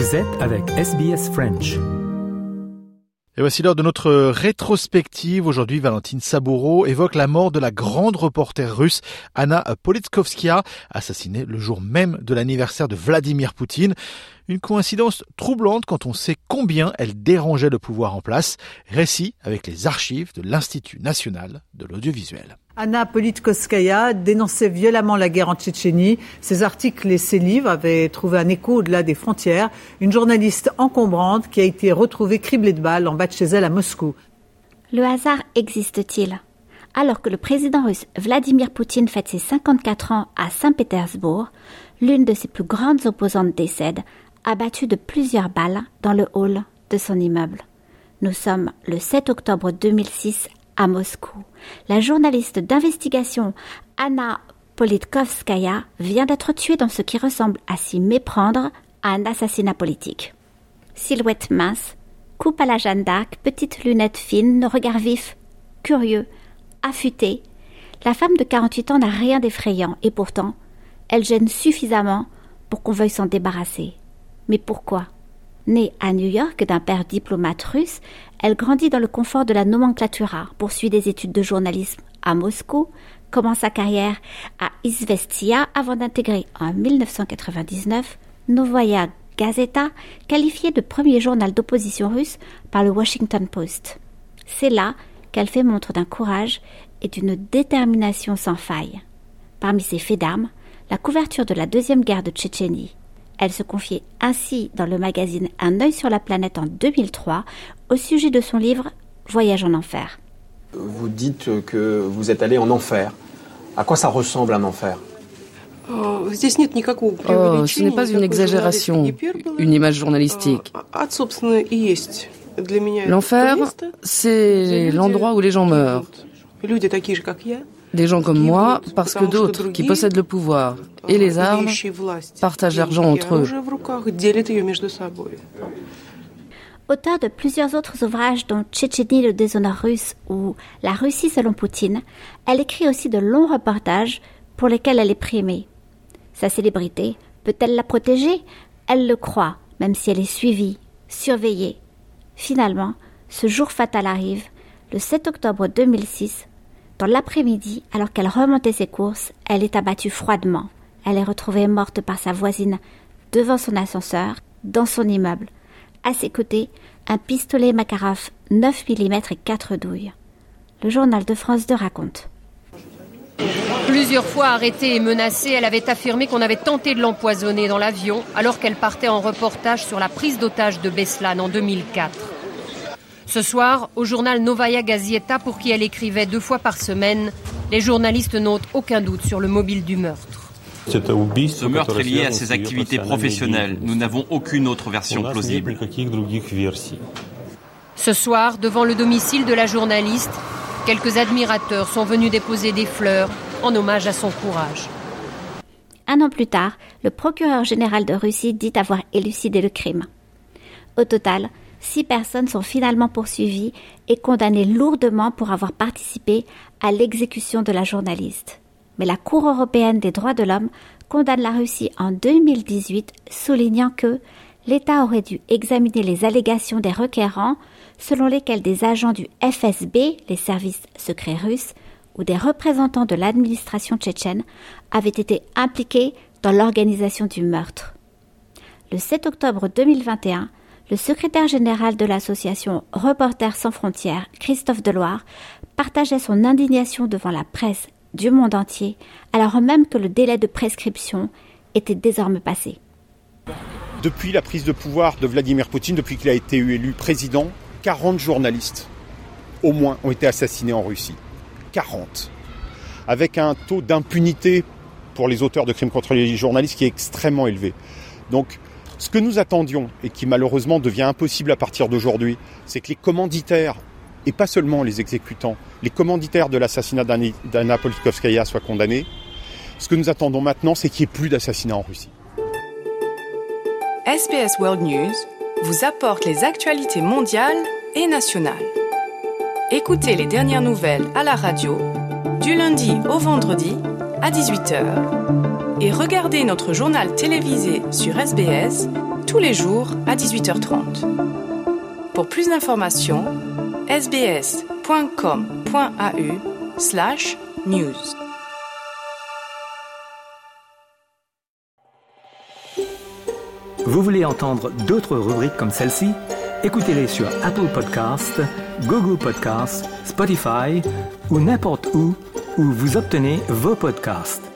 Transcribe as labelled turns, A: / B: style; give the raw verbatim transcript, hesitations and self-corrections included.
A: Vous êtes avec S B S French.
B: Et voici l'heure de notre rétrospective. Aujourd'hui, Valentine Saboureau évoque la mort de la grande reporter russe Anna Politkovskaya, assassinée le jour même de l'anniversaire de Vladimir Poutine. Une coïncidence troublante quand on sait combien elle dérangeait le pouvoir en place. Récit avec les archives de l'Institut national de l'audiovisuel.
C: Anna Politkovskaya dénonçait violemment la guerre en Tchétchénie. Ses articles et ses livres avaient trouvé un écho au-delà des frontières. Une journaliste encombrante qui a été retrouvée criblée de balles en bas de chez elle à Moscou.
D: Le hasard existe-t-il ? Alors que le président russe Vladimir Poutine fête ses cinquante-quatre ans à Saint-Pétersbourg, l'une de ses plus grandes opposantes décède, abattue de plusieurs balles dans le hall de son immeuble. Nous sommes le sept octobre deux mille six à Moscou. La journaliste d'investigation Anna Politkovskaya vient d'être tuée dans ce qui ressemble à s'y méprendre à un assassinat politique. Silhouette mince, coupe à la Jeanne d'Arc, petites lunettes fines, regard vif, curieux, affûté, la femme de quarante-huit ans n'a rien d'effrayant et pourtant, elle gêne suffisamment pour qu'on veuille s'en débarrasser. Mais pourquoi ? Née à New York d'un père diplomate russe, elle grandit dans le confort de la nomenclatura, poursuit des études de journalisme à Moscou, commence sa carrière à Izvestia avant d'intégrer en dix-neuf cent quatre-vingt-dix-neuf Novaya Gazeta, qualifiée de premier journal d'opposition russe par le Washington Post. C'est là qu'elle fait montre d'un courage et d'une détermination sans faille. Parmi ses faits d'armes, la couverture de la deuxième guerre de Tchétchénie. Elle se confiait ainsi dans le magazine Un œil sur la planète en deux mille trois au sujet de son livre Voyage en enfer.
E: Vous dites que vous êtes allé en enfer. À quoi ça ressemble un enfer ?
F: Oh, ce n'est pas une exagération, une image journalistique. L'enfer, c'est l'endroit où les gens meurent. Des gens comme moi, parce que d'autres, qui possèdent le pouvoir et les armes, partagent l'argent entre eux.
D: Auteur de plusieurs autres ouvrages dont Tchétchénie, le déshonneur russe ou La Russie selon Poutine, elle écrit aussi de longs reportages pour lesquels elle est primée. Sa célébrité, peut-elle la protéger ? Elle le croit, même si elle est suivie, surveillée. Finalement, ce jour fatal arrive, le sept octobre deux mille six. Dans l'après-midi, alors qu'elle remontait ses courses, elle est abattue froidement. Elle est retrouvée morte par sa voisine devant son ascenseur, dans son immeuble. À ses côtés, un pistolet Makarov neuf millimètres et quatre douilles. Le journal de France deux raconte.
G: Plusieurs fois arrêtée et menacée, elle avait affirmé qu'on avait tenté de l'empoisonner dans l'avion alors qu'elle partait en reportage sur la prise d'otage de Beslan en deux mille quatre. Ce soir, au journal Novaya Gazeta, pour qui elle écrivait deux fois par semaine, les journalistes n'ont aucun doute sur le mobile du meurtre.
H: Ce meurtre est lié à ses activités professionnelles. Nous n'avons aucune autre version plausible.
G: Ce soir, devant le domicile de la journaliste, quelques admirateurs sont venus déposer des fleurs en hommage à son courage.
D: Un an plus tard, le procureur général de Russie dit avoir élucidé le crime. Au total, Six personnes sont finalement poursuivies et condamnées lourdement pour avoir participé à l'exécution de la journaliste. Mais la Cour européenne des droits de l'homme condamne la Russie en deux mille dix-huit, soulignant que l'État aurait dû examiner les allégations des requérants selon lesquels des agents du F S B, les services secrets russes, ou des représentants de l'administration tchétchène avaient été impliqués dans l'organisation du meurtre. Le sept octobre deux mille vingt et un, le secrétaire général de l'association Reporters sans frontières, Christophe Deloire, partageait son indignation devant la presse du monde entier, alors même que le délai de prescription était désormais passé.
I: Depuis la prise de pouvoir de Vladimir Poutine, depuis qu'il a été élu président, quarante journalistes, au moins, ont été assassinés en Russie. quarante. Avec un taux d'impunité pour les auteurs de crimes contre les journalistes qui est extrêmement élevé. Donc, ce que nous attendions, et qui malheureusement devient impossible à partir d'aujourd'hui, c'est que les commanditaires, et pas seulement les exécutants, les commanditaires de l'assassinat d'Anna Politkovskaya soient condamnés. Ce que nous attendons maintenant, c'est qu'il n'y ait plus d'assassinats en Russie.
J: S B S World News vous apporte les actualités mondiales et nationales. Écoutez les dernières nouvelles à la radio, du lundi au vendredi à dix-huit heures. Et regardez notre journal télévisé sur S B S tous les jours à dix-huit heures trente. Pour plus d'informations, sbs.com.au slash news.
A: Vous voulez entendre d'autres rubriques comme celle-ci? Écoutez-les sur Apple Podcasts, Google Podcasts, Spotify ou n'importe où où vous obtenez vos podcasts.